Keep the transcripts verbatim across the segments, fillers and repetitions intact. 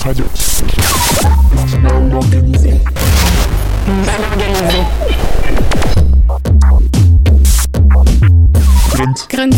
Radio. Mal organisé. Mal organisé. Grunt. Grunt.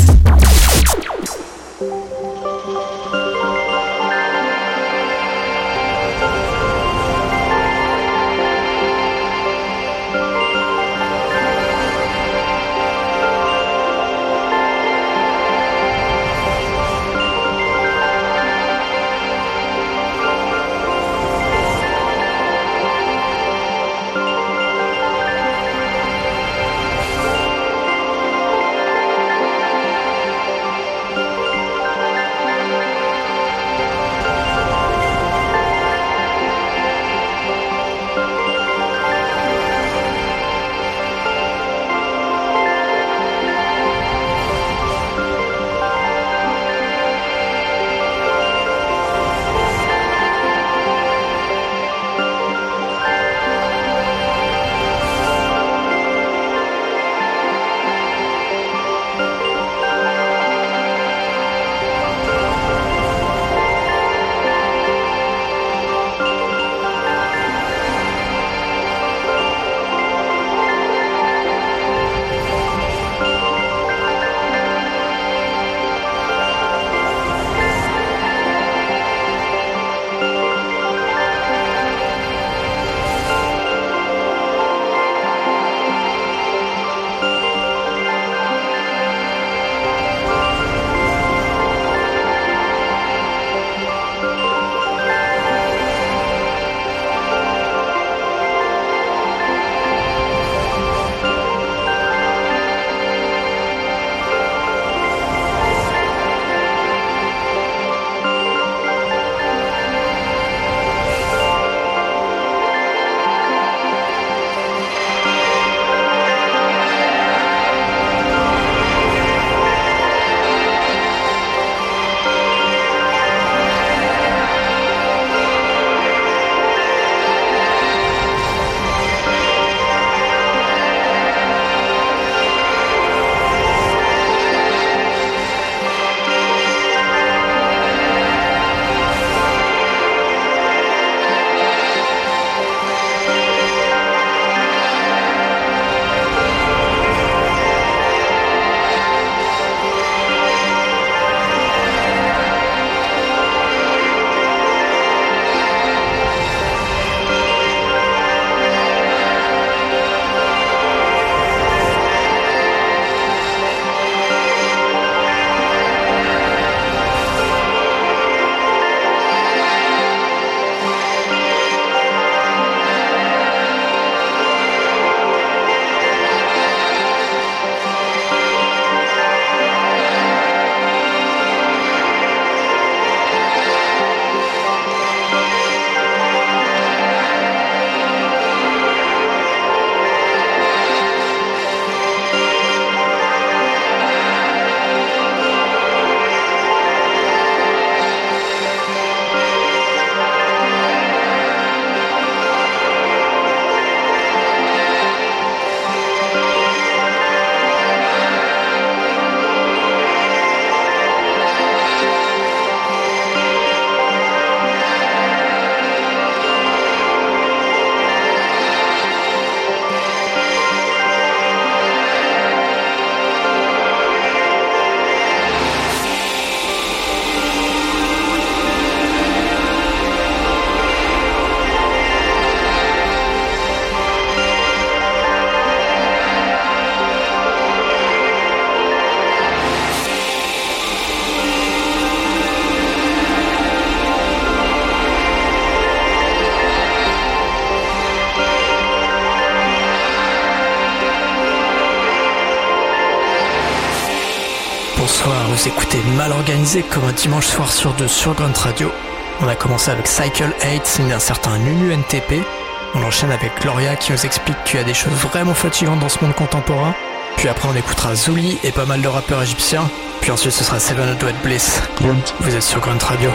Bonsoir, vous écoutez Mal Organisé comme un dimanche soir sur deux sur Grunt Radio. On a commencé avec Cycle huit, signé d'un certain Nunu N T P. On enchaîne avec Gloria qui nous explique qu'il y a des choses vraiment fatigantes dans ce monde contemporain. Puis après on écoutera Zouli et pas mal de rappeurs égyptiens. Puis ensuite ce sera Seven Hundred Bliss. Grunt. Vous êtes sur Grunt Radio.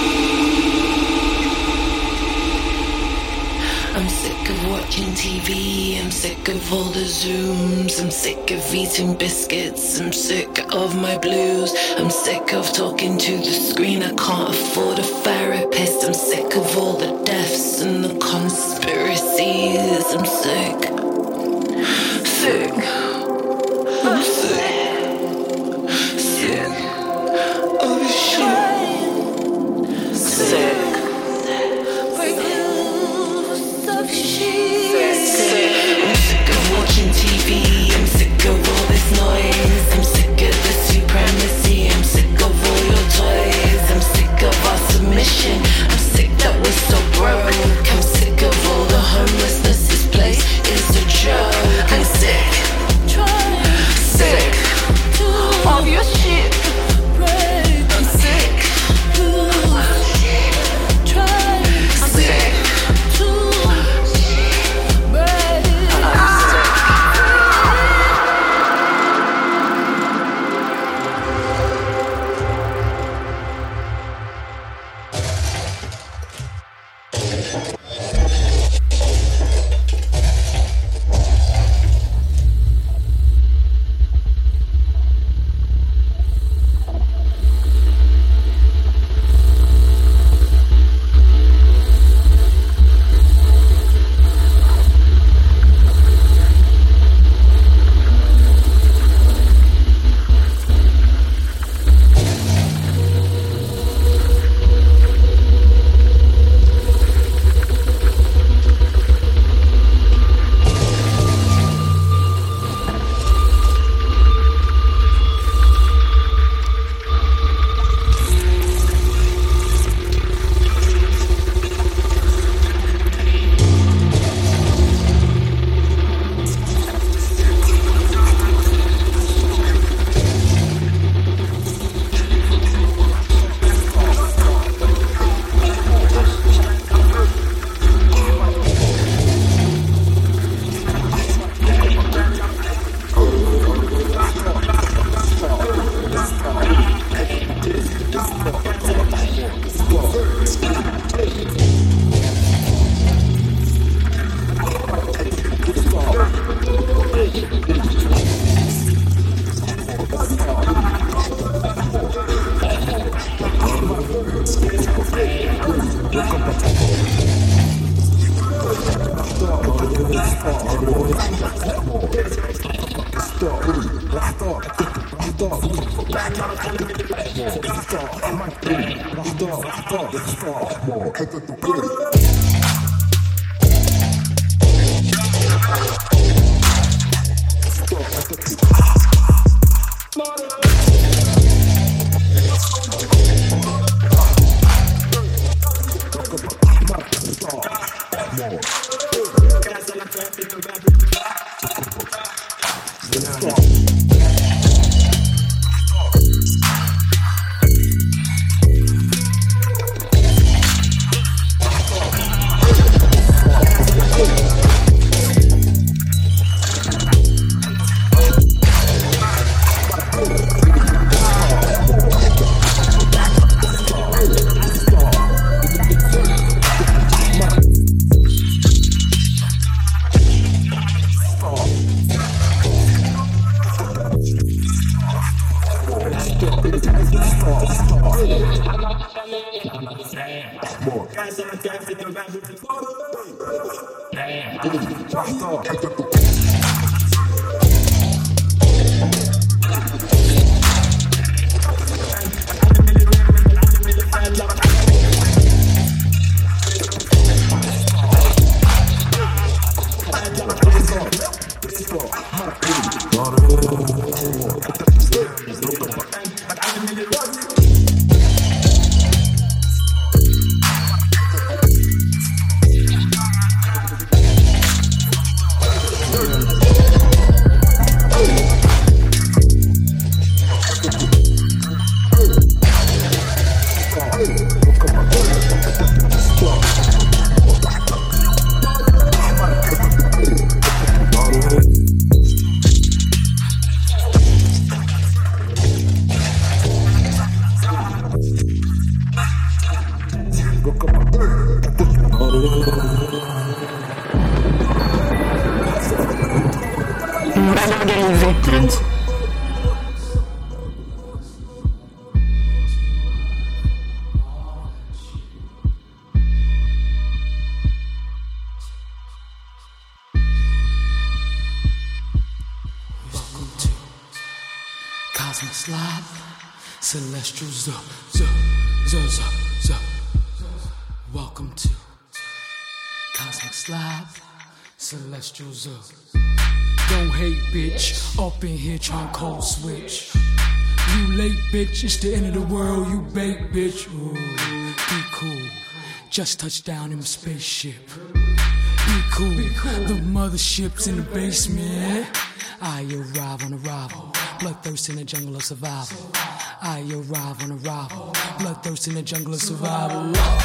I'm sick of watching T V T V, I'm sick of all the Zooms, I'm sick of eating biscuits, I'm sick of my blues, I'm sick of talking to the screen, I can't afford a therapist, I'm sick of all the deaths and the conspiracies, I'm sick, sick, I'm sick, sick of this shit, sick. Watching T V, I'm sick of all this noise, I'm sick of the supremacy, I'm sick of all your toys, I'm sick of our submission, I'm sick that we're so broke, I'm sick of all the homelessness, this place is a joke, I'm sick, sick of your shit, I'm sick, sick. Dirty mal organisé. Cosmic slide, celestial z, z, z, z, z. Welcome to Cosmic slide, celestial z. Don't hate, bitch, up in here trying cold switch. You late, bitch, it's the end of the world, you bait, bitch. Ooh, be cool, just touched down in my spaceship. Be cool, be cool. The mothership's in the basement. I arrive on arrival, bloodthirst in the jungle of survival. I arrive on arrival, bloodthirst in the jungle of survival.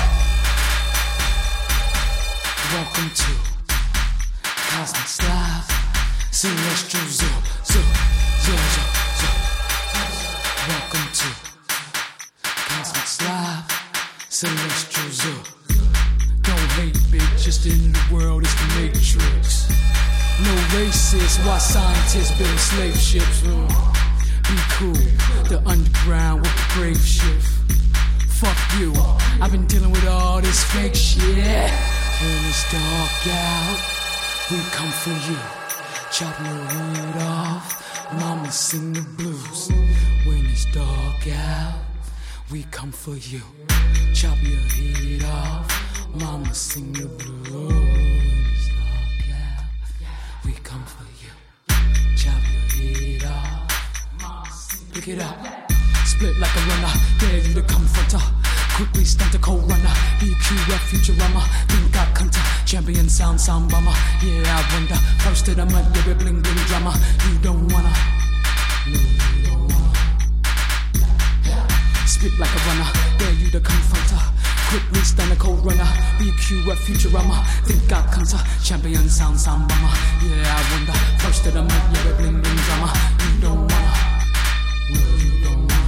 Welcome to Cosmic Slide, celestial z, z, z, z, z. Welcome to Cosmic Slide, celestial z. Don't hate, bitch, it's the end of the world, it's the Matrix. No racist, why scientists build slave ships? Mm. Be cool, the underground with the brave shift. Fuck you, I've been dealing with all this fake shit. When it's dark out, we come for you. Chop your head off, mama sing the blues. When it's dark out, we come for you. Chop your head off, mama sing the blues. We come for you. Chop your head off. Pick it up. Split like a runner. Dare you to confront her. Quickly stunt a cold runner. B Q F Futurama. Think I counter. Champion sound sound bomber. Yeah, I wonder. First to the mud, yeah, bling bling drama. You don't wanna. No, you don't wanna. Split like a runner. Dare you to confront her. Quickly stun a cold runner. B Q F Futurama. Think I counter. Champion sound sound bomber. Yeah, I wonder. First to the mud, yeah, bling bling drama. You don't wanna. No, you don't wanna.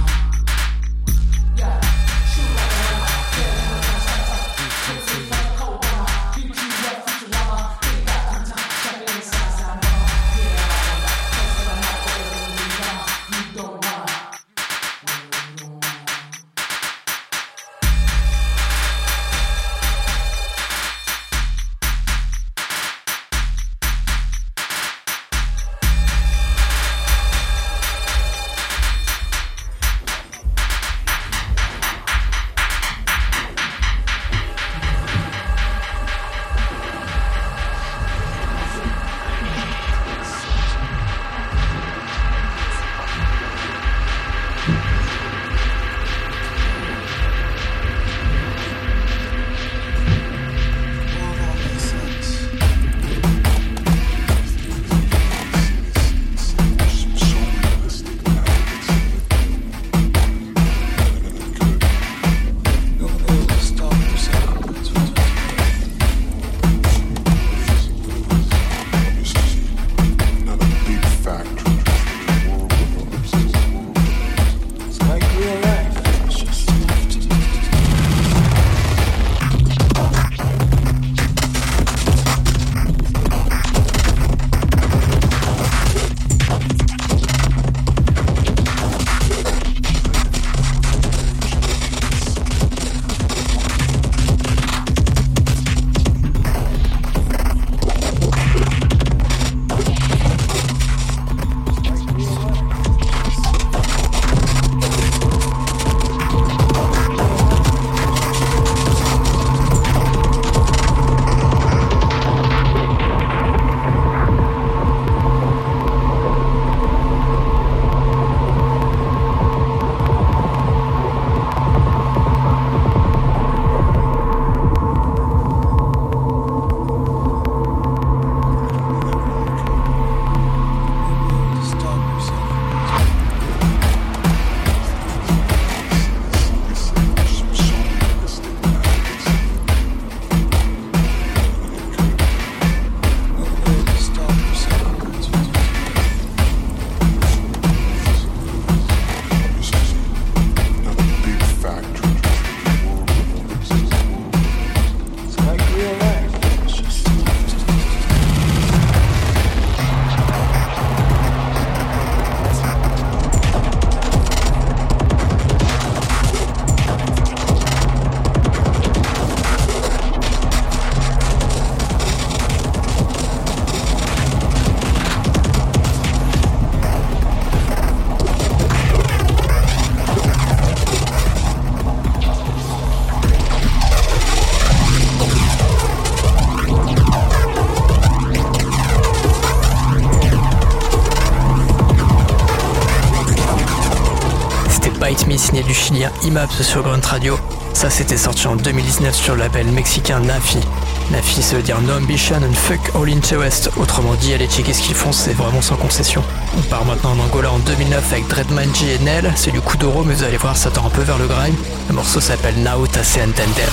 Me signé du chilien Imaps sur Grunt Radio. Ça c'était sorti en deux mille dix-neuf sur le label mexicain Nafi. Nafi ça veut dire No Ambition and Fuck All Interest. Autrement dit, allez checker ce qu'ils font, c'est vraiment sans concession. On part maintenant en Angola en deux mille neuf avec Dreadmanji et Nel. C'est du Kuduro mais vous allez voir ça tend un peu vers le grime. Le morceau s'appelle Now Ta Se Entender.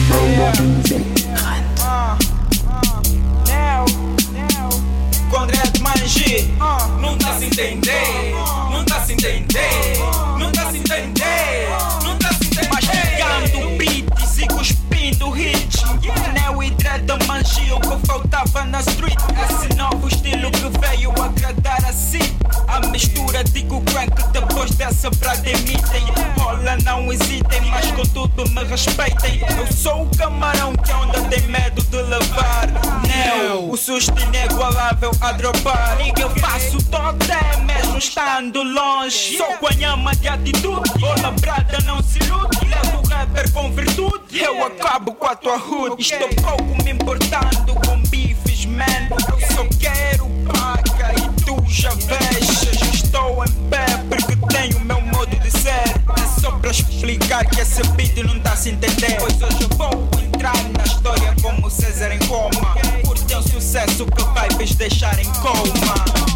Com Dreadmanji, não tá se entender, não tá se entender, não tá se entender, não tá se entender. Mastigando beats e cuspindo hits. Neo e Dreadmanji, o que faltava na street. Esse novo estilo que veio agradar a si. A mistura digo crank depois dessa pra demitem. Rola não hesitem, mas contudo me respeitem. Eu sou o camarão que a onda tem medo de levar. Neo, o susto inigualável a dropar. E que eu faço totem mesmo estando longe. Sou guanhama de atitude, ou labrada não se ilude. Levo o rapper com virtude, eu acabo com a tua hood. Estou pouco me importando com bifes, man. Eu só quero paga e tu já vês. Estou em pé porque tenho o meu modo de ser. É só pra explicar que esse beat não tá se entender. Pois hoje eu vou entrar na história como César em coma. Por teu sucesso que vai vos deixar em coma.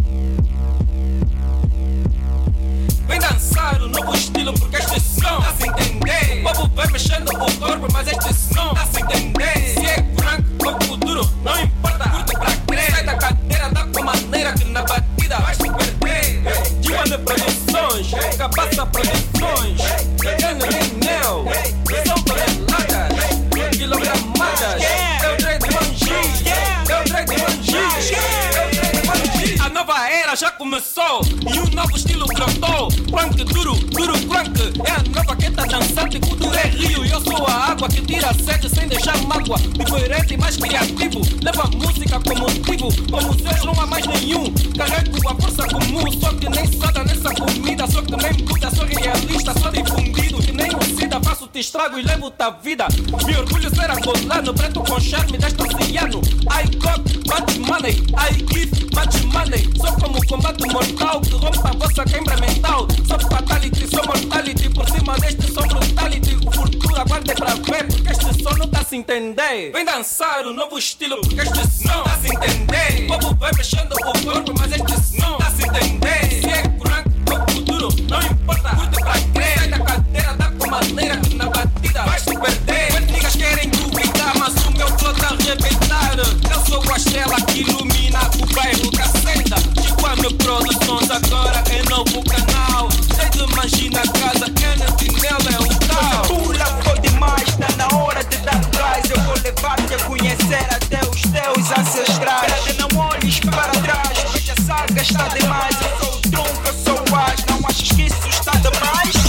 Vem dançar o novo estilo porque este som tá se entender. O povo vai mexendo o corpo mas este som tá se entender. Se é franco ou duro, não importa, curto pra crer. Sai da cadeira, dá com maneira que na batida vai se perder. Diva de produções, cabaça produções. Pegando Neo, são toneladas, quilogramadas. Eu Dreadmanji, eu Dreadmanji, eu Dreadmanji. A nova era já começou e um novo estilo brotou. Crank duro, duro crank. É a nova que tá dançante, cultura é rio. E eu sou a água que tira a sede sem deixar mágoa. Diferente e mais criativo, levo a música como motivo. Como Zeus não há mais nenhum. Carrego a força comum, só que nem soda nessa comida. Só que nem Buda, sou realista, sou difundido. Que nem o Sida, faço-te estrago e levo-te a vida. Me orgulho ser angolano, preto com charme deste oceano. I got much money, I give much money. Sou como combate mortal que rompe a vossa queimbra mental. Sou fatality, sou mortality. Por cima deste som brutality. O futuro aguarda pra ver porque este som não tá se entender. Vem dançar o novo estilo porque este som tá se entender. O povo vai mexendo o corpo mas este som tá se entender. Se é crank ou futuro, não importa, curte pra crer. Sai da cadeira, dá com maneira que na batida vais te perder. As niggas querem duvidar mas o meu flow tá a arrebentar. Eu sou a estrela que ilumina o bairro que acenda. Chiquano Produções agora é novo canal. Dreadmanji na casa, Kennedy nela é o tal. Pula, foi demais, tá na hora de dar trás. Eu vou levar-te a conhecer até os teus ancestrais. Prete, não olhes para trás, porque a saga está demais. Eu sou o tronco, eu sou o as. Não achas que isso está demais?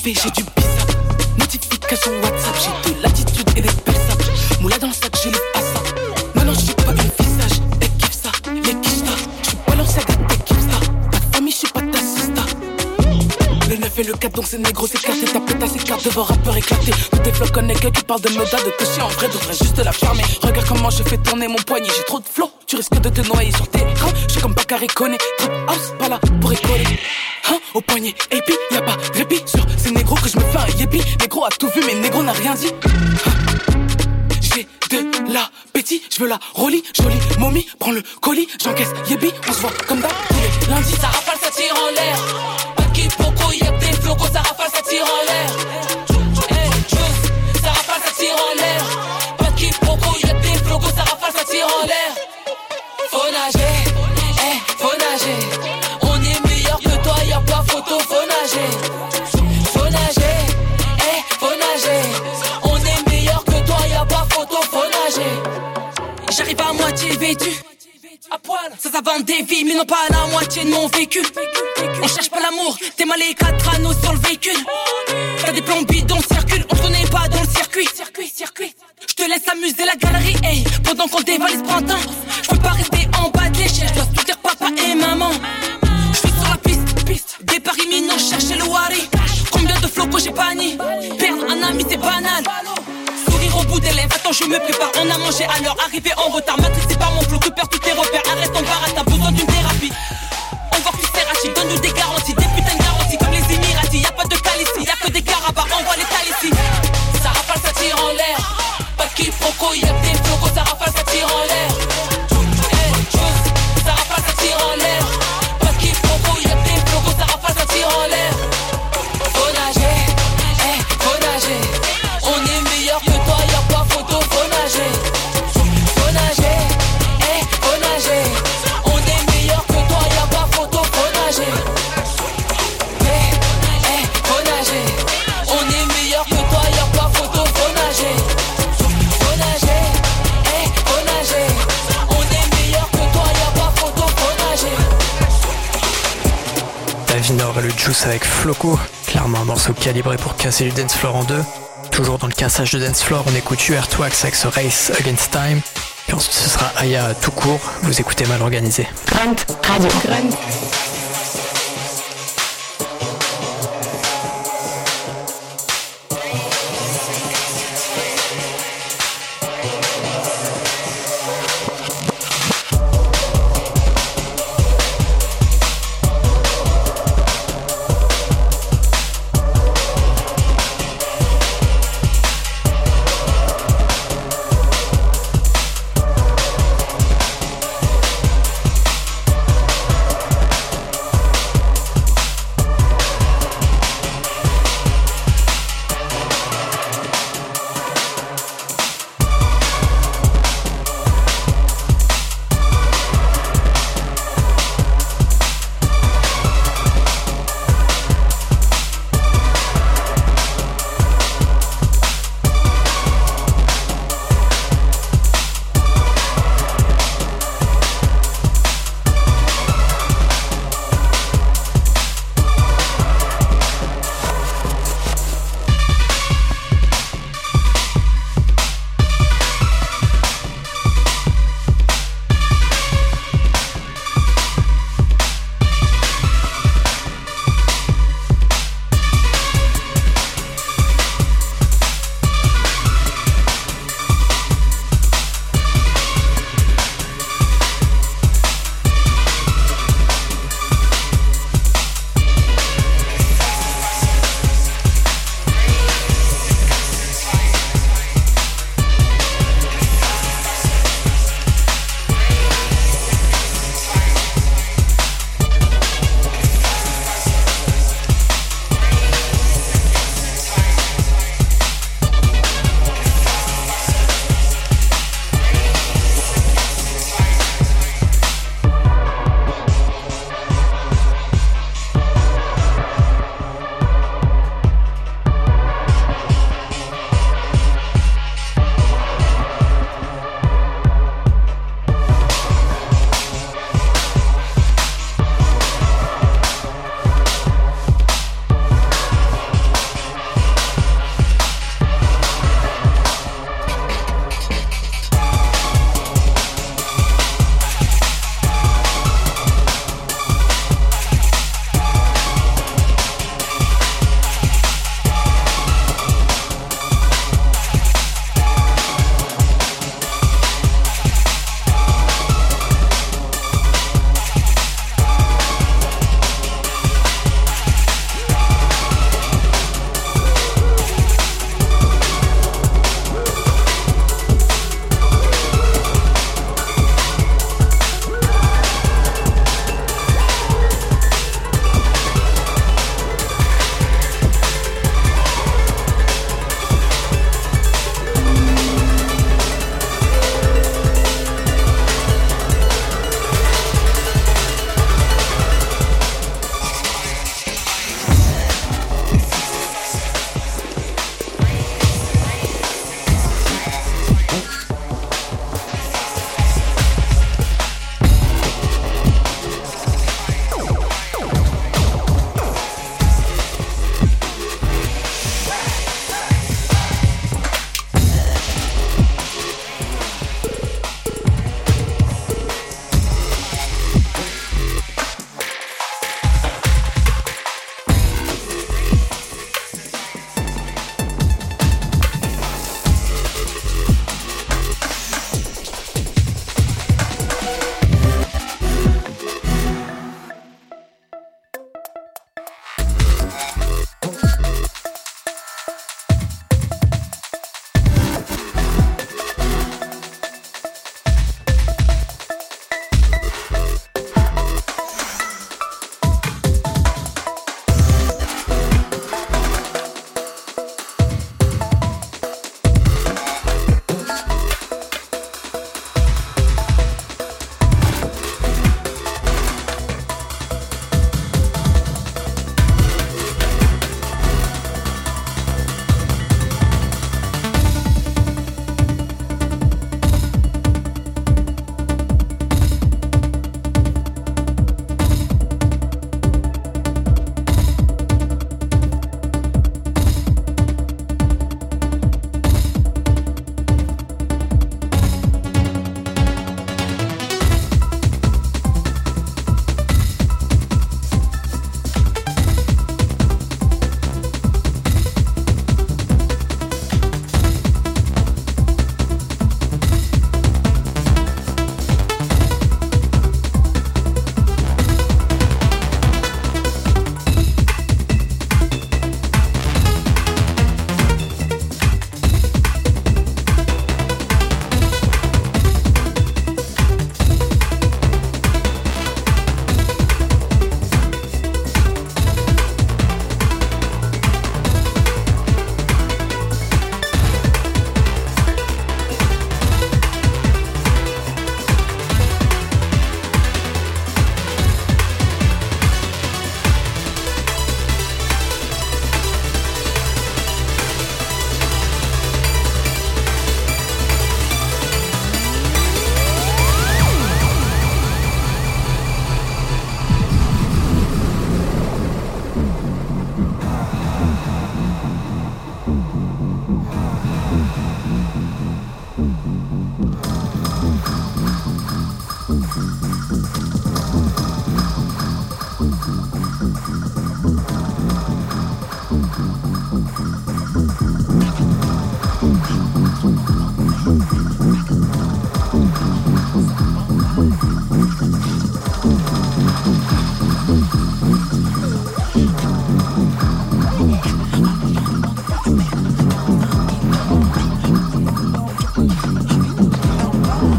fait, j'ai du bizarre. Notification WhatsApp, j'ai de l'attitude et des belles sapes. Moula dans le sac, je livre à ça. Maintenant je suis pas une visage, elle kiffe ça, les kiffe ça. Je suis balancé à gâte, elle kiffe ça. Pas de famille, je suis pas ta sista. Le neuf et le quatre, donc c'est négro, c'est éclaté. Ta pétasse éclate devant rappeur éclaté. Tous tes flots connectés qui parlent de meda, de cocher en vrai, devrais juste la fermer. Regarde comment je fais tourner mon poignet, j'ai trop de flow. Tu risques de te noyer sur tes crans. Je suis comme Bakary Koné, trap house, pas là pour rigoler. Hein, au poignet, et puis y'a pas de répit sur ces négros que je me fais un yépi. Négro a tout vu, mais négro n'a rien dit. J'ai de l'appétit, je veux la rollie, jolie momie, prends le colis, j'encaisse yébi, on se voit comme d'hab tous les lundis. Ça rafale, ça tire en l'air. Pas de quiproquo, y'a que des flocos, ça rafale, ça tire en l'air. Hey, chose, ça rafale, ça tire en l'air. Pas de quiproquo, y'a que des flocos, ça rafale, ça tire en l'air. Faut nager, hey, faut nager. On est meilleur que toi, y'a pas photo, faut nager. Faut nager, hey, faut nager. On est meilleur que toi, y'a pas photo, faut nager. J'arrive à moitié vêtu, à poil, ça ça vend des vies, mais non pas la moitié de mon vécu. On cherche pas l'amour, t'es mal les quatre anneaux sur le véhicule. T'as des plombs bidons, circule, on se connaît pas dans le circuit. Circuit, circuit. Je te laisse amuser la galerie, hey, pendant qu'on dévalise printemps. Je peux pas rester en bas de l'échelle, je dois tout dire papa et maman. Je suis sur la piste, piste, départ imminent, chercher le wari. Combien de flocos j'ai banni, perdre un ami c'est banal. Sourire au bout des lèvres, attends je me prépare. On a mangé à l'heure, arrivé en retard. Matrixé par mon flow, tu perds tous tes repères. Arrête ton barat, t'as besoin d'une thérapie. On va plus faire hachis, donne-nous des garanties. Des putains de garanties comme les Émiratis. Y'a pas de cal ici, y'a que des carabas, envoie les tales ici. Ça rafale, ça tire en l'air. Pas de quiproquo, y'a que des flocos. Ça rafale, ça tire en l'air. Hey, chose, ça rafale, ça tire en l'air. Pas de quiproquo, y'a que des flocos. Ça rafale, ça tire en l'air. Faut nager, hey, faut nager. On est meilleur que toi, y'a pas photo, faut nager. Faut nager, hey, faut nager. On est meilleur que toi, y'a pas photo, faut nager. Hey, hey, faut nager. On est meilleur que toi, y'a pas photo, faut nager. Faut nager, hey, faut nager. On est meilleur que toi, y'a pas photo, faut nager. Davinor et le Juice avec Floco, clairement un morceau calibré pour casser le dance floor en deux. Toujours dans le cassage de dance floor, on écoute U R Twax avec ce Race Against Time. Puis ensuite ce sera Aya tout court, vous écoutez Mal Organisé. Grunt Radio. Grunt.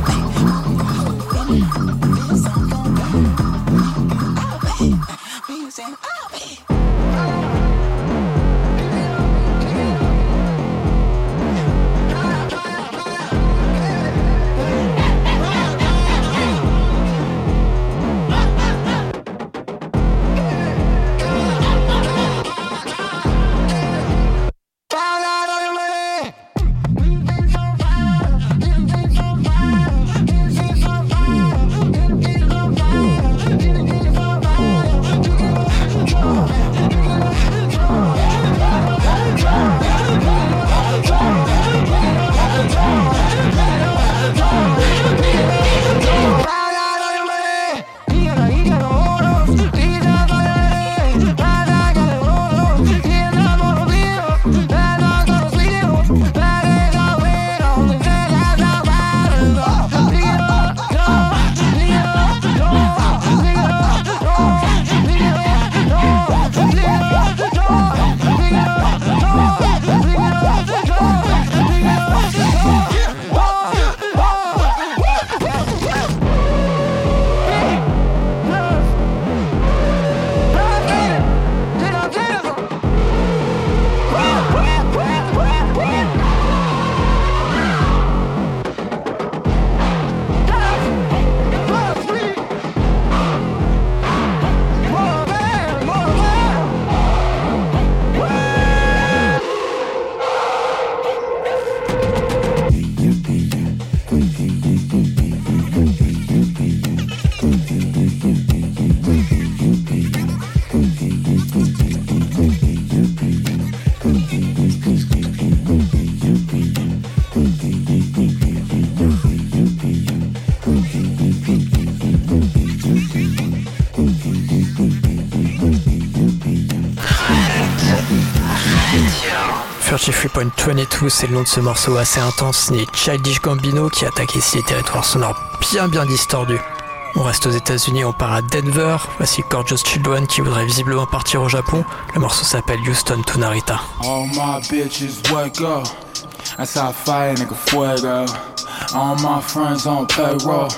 trente-trois point vingt-deux, c'est le nom de ce morceau assez intense signé Childish Gambino qui attaque ici les territoires sonores bien bien distordus. On reste aux États-Unis, on part à Denver. Voici Gorgeous Children qui voudrait visiblement partir au Japon. Le morceau s'appelle Houston to Narita. All my bitches wake up. That's how I fight, nigga, fuego. All my friends on payroll.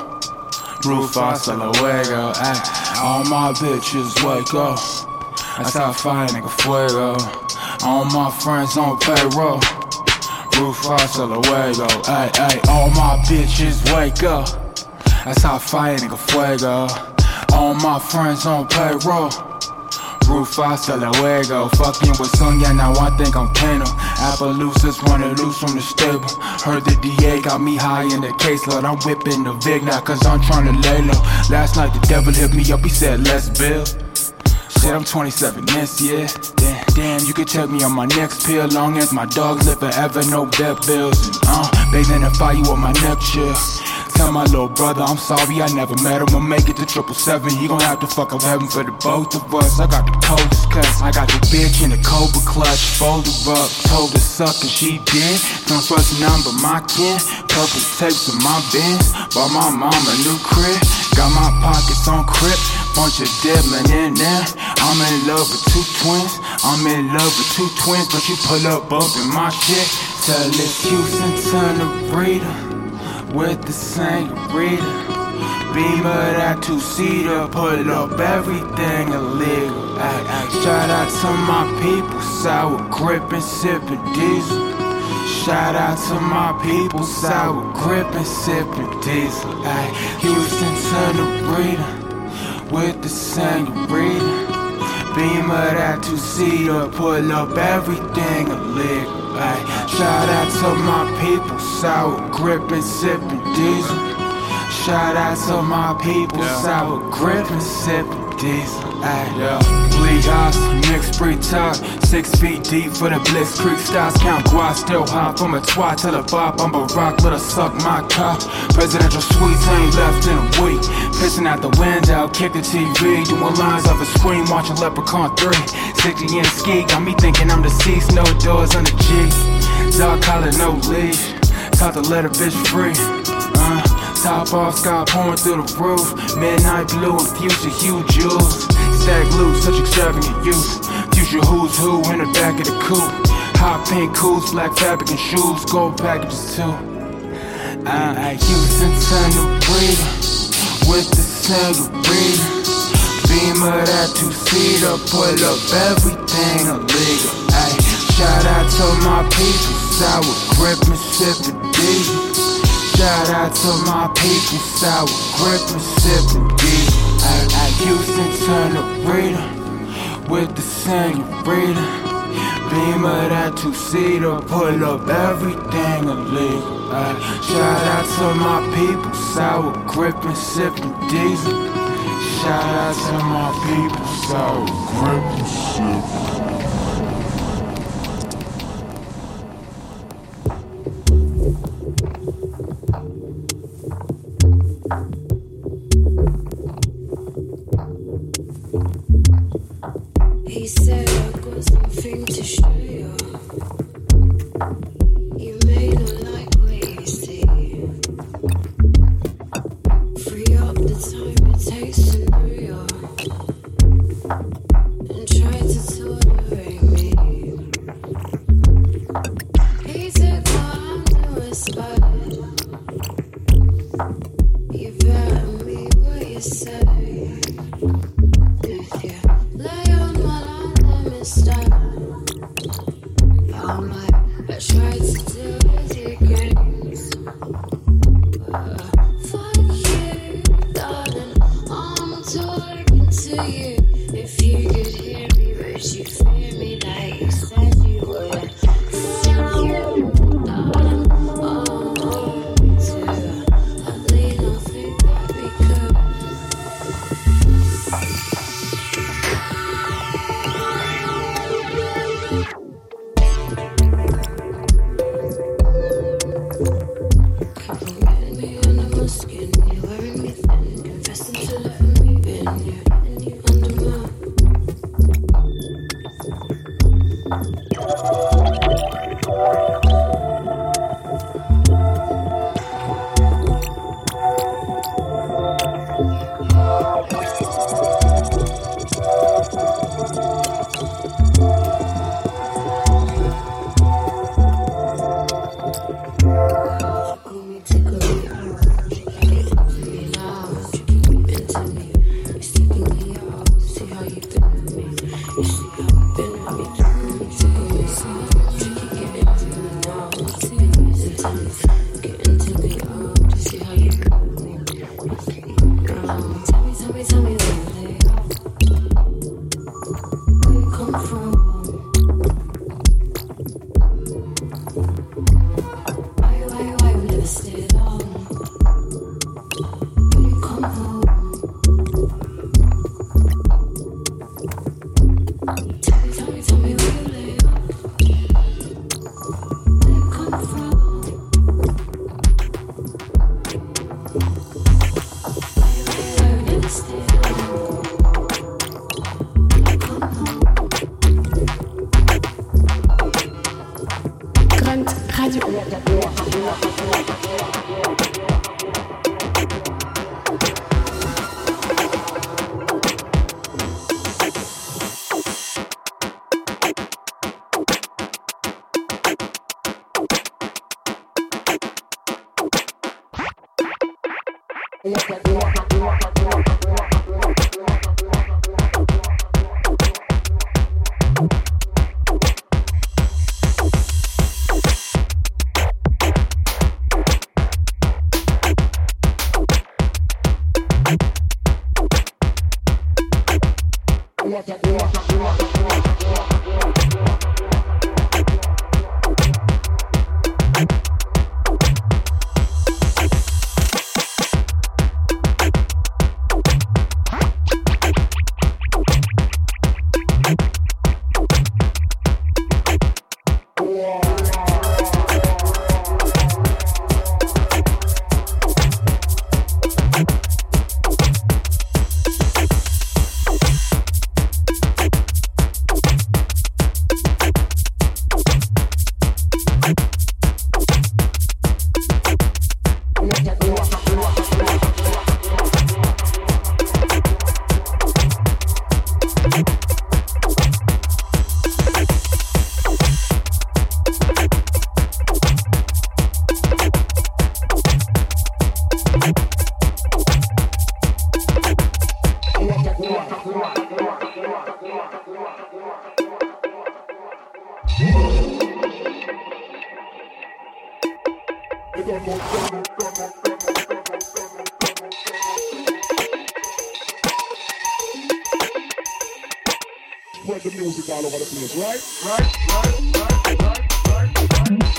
Rufus a la fuego. All my bitches wake up. That's how I fight, nigga, fuego. All my friends on payroll. Rufus a la fuego. Ay, ay, all my bitches wake up. That's how I fight, nigga, fuego. All my friends on payroll. Rufus a la fuego. Fucking with Sonya, now I think I'm Kano. Appaloosas running loose from the stable. Heard the D A got me high in the case, Lord. I'm whipping the Vig now, cause I'm trying to lay low. Last night the devil hit me up, he said, let's build. Shit, I'm twenty-seven this year. Damn, damn, you can check me on my next pill. Long as my dogs live forever, no vet bills. And, uh, bathing in fire with my neck chill. Tell my little brother I'm sorry I never met him. I'll make it to triple seven. He gon' have to fuck up heaven for the both of us. I got the coldest cuts. I got the bitch in the Cobra clutch. Folded up, told her suck and she did. Don't trust none but my kin. Purple tapes in my bins. Bought my mom a new crib. Got my pockets on crib. Bunch of diddling in there. I'm in love with two twins. I'm in love with two twins. But you pull up both in my shit. Tell this Houston turn to breeder. With the Sangarita, Beamer that two-seater, pull up everything illegal. Ay, ay. Shout out to my people, sour grip and sippin' diesel. Shout out to my people, sour grip and sippin' diesel. Ay, Houston to the breeder, with the Sangarita, Beamer that two-seater, pull up everything illegal. Ay, shout out to my people, sour grip and sippin' diesel. Shout out to my people, yeah. Sour grip and sippin' diesel. Ay, yeah. Bleed house, mixed breed talk. Six feet deep for the Blitzkrieg styles. Count guap, still hot from a twat till a bop. I'm a rock, let her suck my cock. Presidential suites ain't left in a week. Pissing out the window, kick the T V. Doing lines off a screen, watching Leprechaun three. sixty in ski, got me thinking I'm deceased. No doors on the G. Dog collar, no leash. Taught to let a bitch free. Uh, top off, sky pouring through the roof. Midnight blue and future hue jewels. Stack loose, such extravagant youth. Future who's who in the back of the coupe. Hot pink cools, black fabric and shoes. Gold packages too. I Houston turn to breather with the senorita. Beamer that two-seater, pull up everything illegal. Ay, shout out to my people, sour grip and sippin' diesel. Shout out to my people, sour grip and sippin' diesel. Ay, ay, Houston turn to breather with the senorita. Beamer that two-seater, pull up everything illegal. Ay, shout out to my people, sour grip and sippin' diesel. Shout out to my people, sour grip and sippin'. He said I got something to show you. You may not like what you see. Free up the time it takes to know you, and try to tolerate me. He took my hand and whispered, you better mean what you say. If you lay on my line, let me stop. All my, I tried to deal with your games. Uh, fuck you, darling. I'm talking to you. If you could hear me, would you fear me like you said you would? Fuck you, darling. I'm hoping to. At least I think that we could. Getting me under my skin, you wearing me thin, confessing to letting me in, you and you under my. Tickle me, tickle me, get into me now, tricky me into me. You sticking me out, see how you been with me. You see how you been with me. Tickle me, tickle me, tricky, get into me now, tickle me into me. Get into me out, just see how you been with me. Um, tell me, tell me, tell me where they are. Where you come from? Why, why, why we never stay long? When you come home, tell me, tell me, tell me where you lay up. Where you come from? Why, why, why we never stay long? When you come home. Grunt Radio. Spread the music all over the place, right? Right, right, right, right, right, right.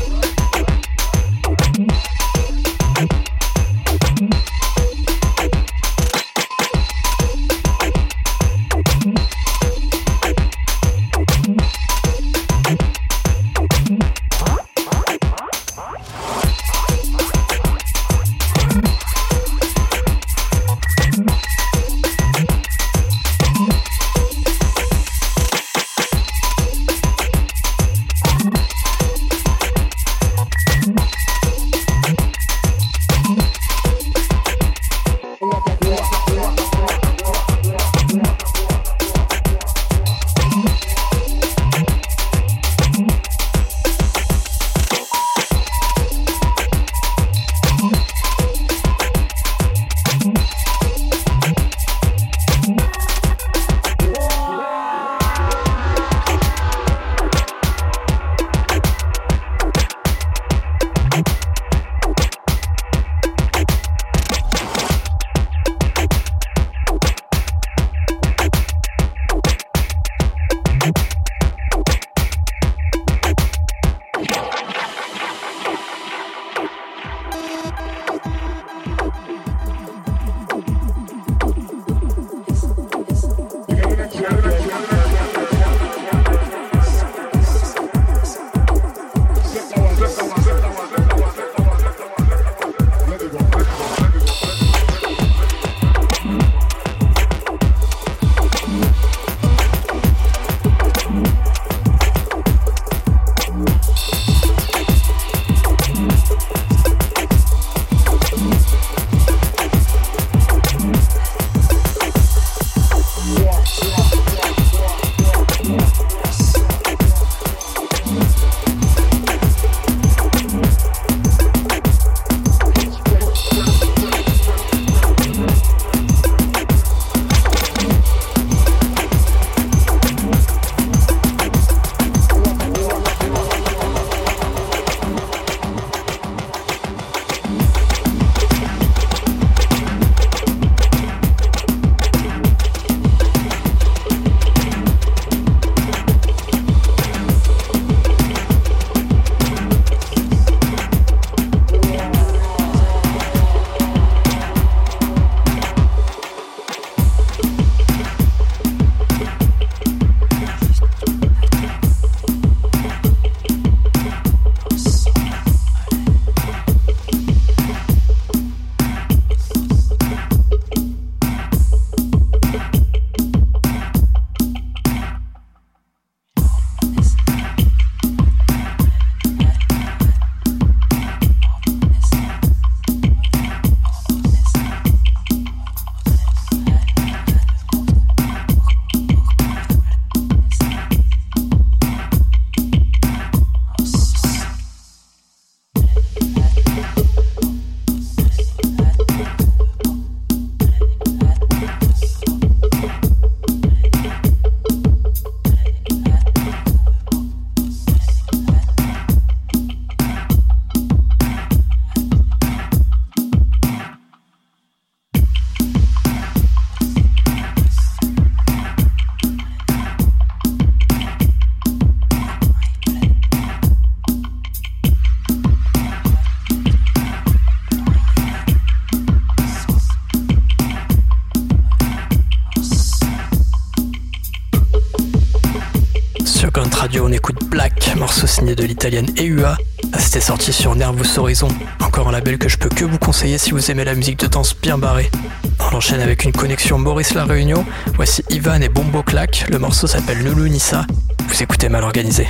Radio, on écoute Black, morceau signé de l'italienne E U A. C'était sorti sur Nervous Horizon, encore un label que je peux que vous conseiller si vous aimez la musique de danse bien barrée. On enchaîne avec une connexion Maurice La Réunion. Voici Ivan et Bombo Clack, le morceau s'appelle Loulou Nissa. Vous écoutez Mal Organisé.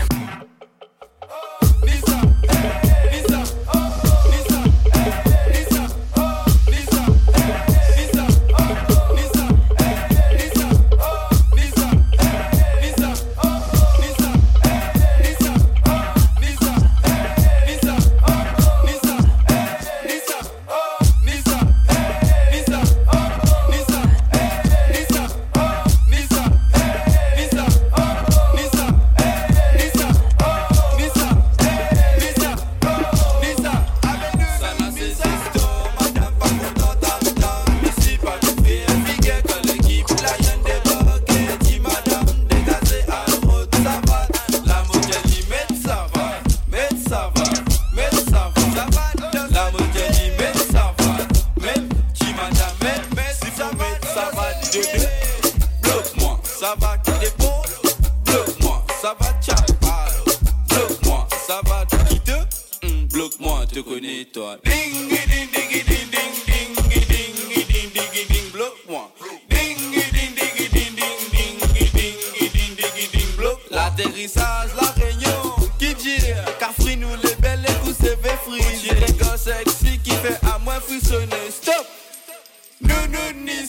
Oh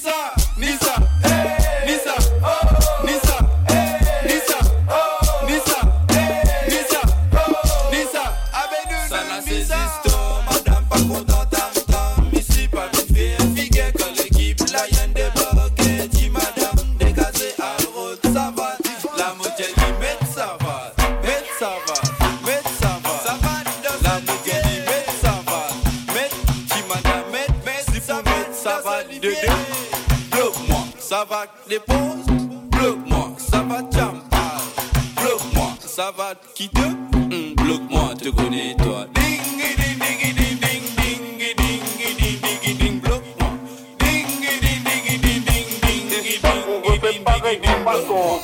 Nisa, Nisa, hey, Nisa, oh, Nisa, hey, Nisa, oh, Nisa, hey, Nisa, oh, Nisa. Avec nous, ça n'a cessé, madame, pas content, tam, tam. Ici, pas vite fait, figuer que l'équipe, là, y'en débarqué. Dit madame, dégagez à l'autre, ça va. La modèle dit, met ça va, met ça va, met ça va, ça va. La modèle dit, met ça va, met, dit madame, met, met, si ça va, ça va, l'idée. Bloque-moi, ça va, dépose. Bloque-moi, ça va, jampa. Bloque-moi, ça va, qui te, mm, bloque-moi, te connais toi. Ding, ding, ding, ding, ding, ding, ding, ding, ding, ding, bloque-moi. Ding, ding, ding, ding, ding, ding, ding, ding, ding, ding, bloque-moi.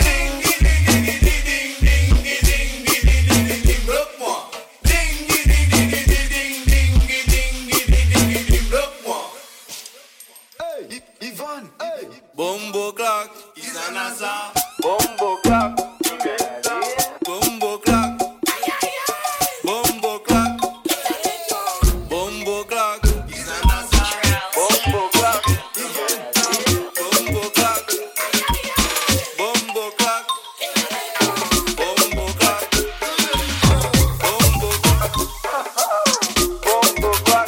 Bombo clock, is an asa. Bombo clock, bombo clock, bombo clock, bombo clock, is an asa. Bombo clock, bombo clock, bombo clock, bombo clock, bombo clock, bombo clock,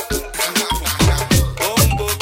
bombo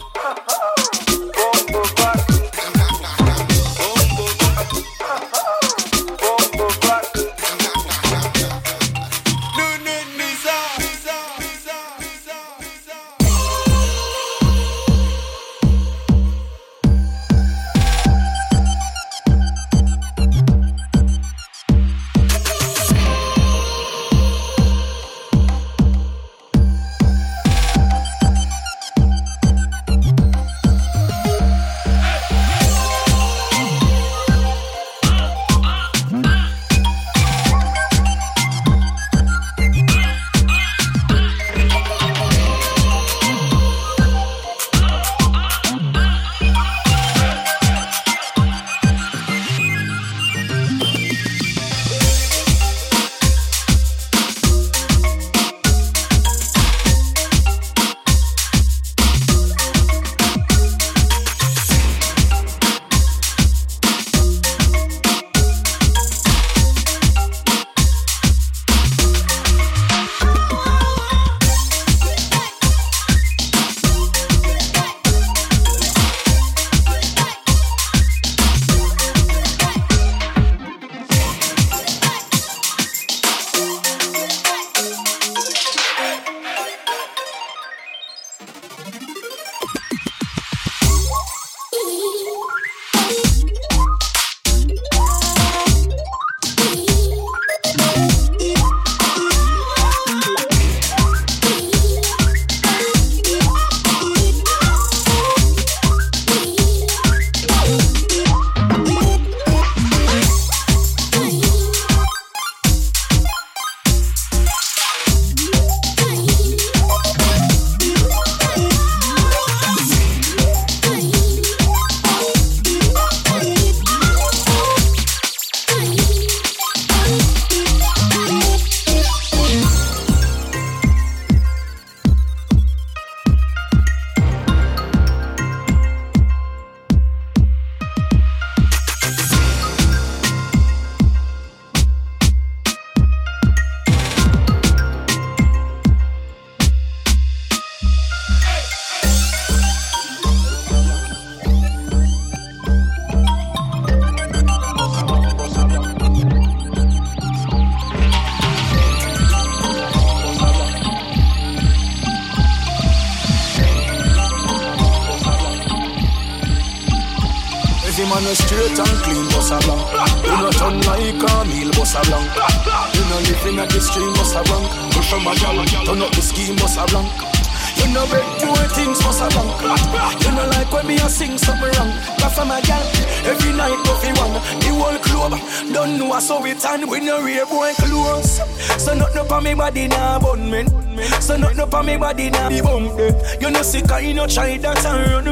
man a straight and clean, boss a blank. You no turn like a meal, boss a blank. You no living at the stream, boss a blank. Push from a gal, turn up the scheme, boss a blank. You no beg poor things, boss a blank. You no like when me a sing something wrong. But from a gal, every night go fi one. The whole club don't know so it and we no real boy close. So nothing up on me body nah bun men. So nothing up on me body nah be bump dead. You no sick and you no try that and run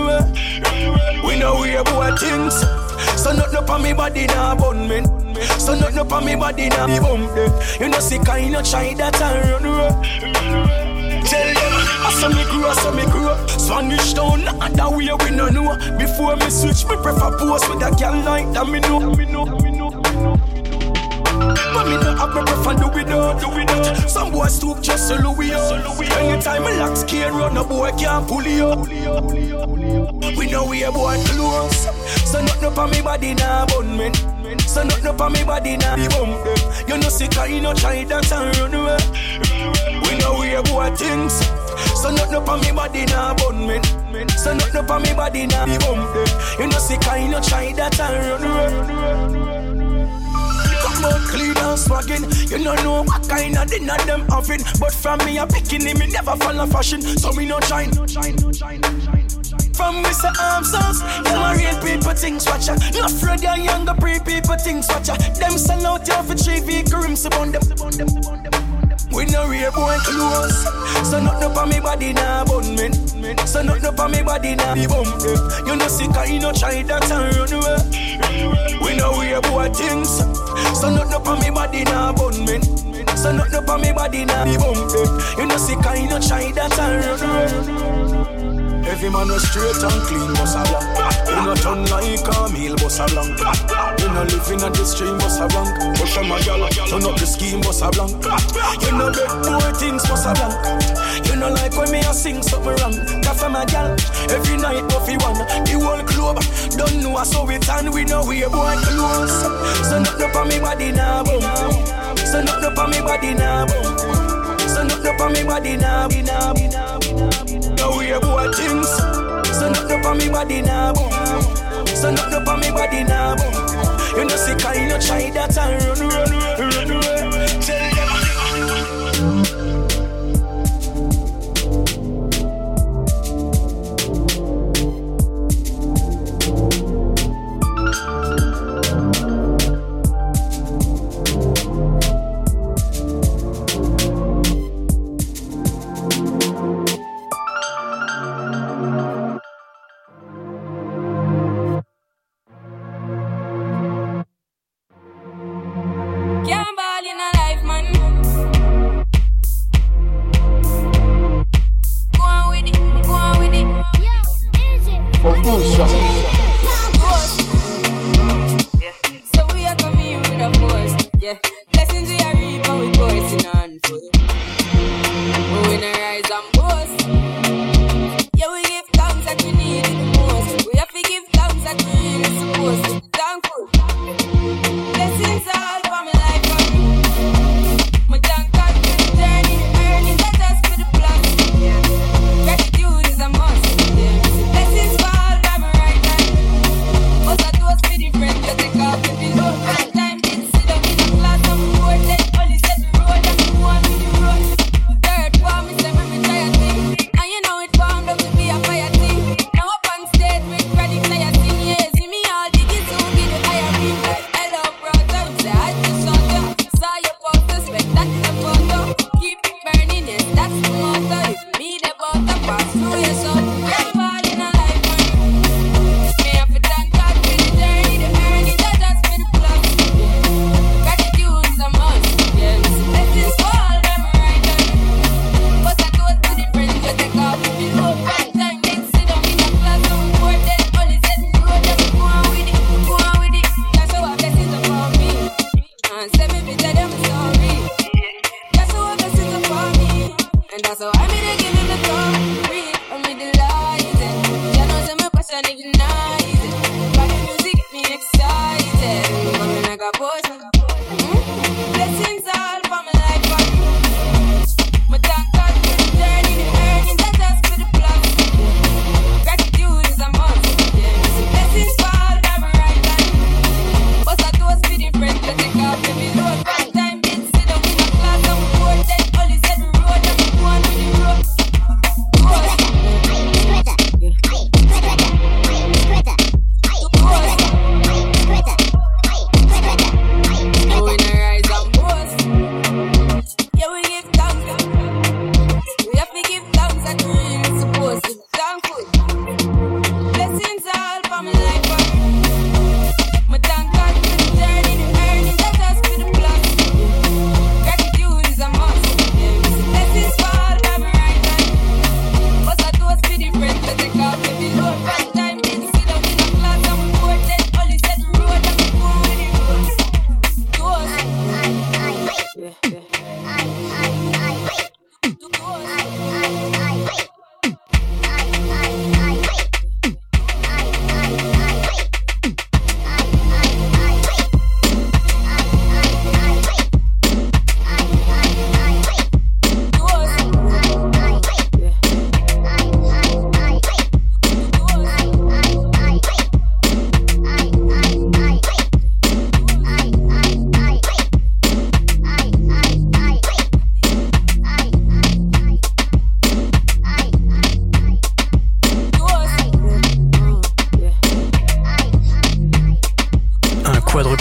away. We no real boy things. So nothing up on me body nah bun men. So nothing up on me body nah be bump dead. You no sick and you no try that and run away. Tell them I saw me grow, I saw me grow. Spanish town, not that way we no know. Before me switch, me prefer post with a girl like that. Me know, me know, me know, me know. But me no have me prefer do without, do without. Some boys stoop just so Louis out. Anytime me lock scared run, a boy can't pull you out. We know we a boy close. So nothing up on me body now, bun me. So nothing up on me body now, be bum them. You know sick I no try that and run away. We know we a boy things. So nothing up on me body now, bun me. So nothing up on me body now, be bum them. You know sick I no try that and run away. Come out clean and swagging. You don't know what kind of dinner them having. But from me a picking him, me never follow fashion. So me no shine. From Mister Armsons, them a real people things watch ya. No afraid ya younger pre people things watch ya. Them sell out ya for three vehicle rims upon them. We no real boy close. So nothing up on me body now, bun me. So nothing up on me body now, be bum them. You know sick I no try that and run away. We know real boy things. So nothing up on me body now, bun me. So nothing up on me body now, be bum them. You know sick I no try that and run away. Every man was straight and clean, bossa blanc. You no turn like a meal, bossa blanc. You no living at the stream, bossa blanc. Push on my gal, turn up the scheme, bossa blanc. You no bed boy things, bossa blanc. You no like when me a sing something wrong. Cafe my gal, every night Buffy one. The whole club, don't know us so it and we know we a boy close. So nothing up on me body now, boom. So nothing up on me body now, boom. So nothing up on me body now, now, now. Now we a boy things. So nothing up on me body now, boom. So nothing up on me body now, boom. You know sick I no try that and run, run, run, run away. Tell them. Gratitude is a must. Blessings fall by my right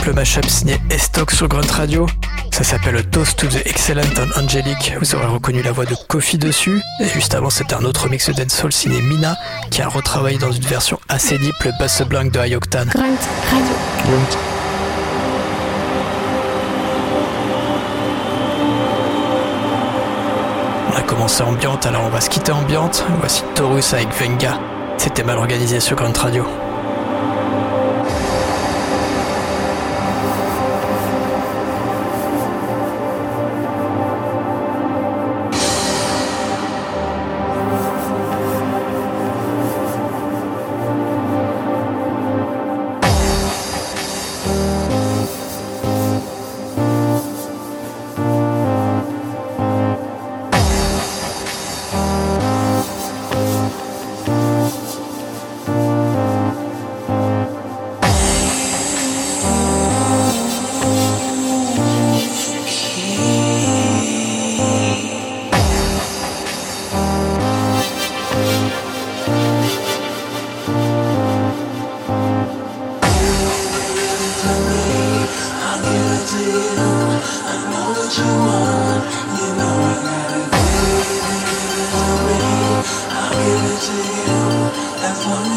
triple mashup signé Estoc sur Grunt Radio. Ça s'appelle Toast to the Excellent and Angelic. Vous aurez reconnu la voix de Kofi dessus. Et juste avant, c'était un autre mix de dancehall signé Mina, qui a retravaillé dans une version assez deep le Bass Blanc de High Octane. Grunt Radio. Grunt. On a commencé ambiante, alors on va se quitter ambiante. Voici Taurus avec Venga. C'était mal organisé sur Grunt Radio. As long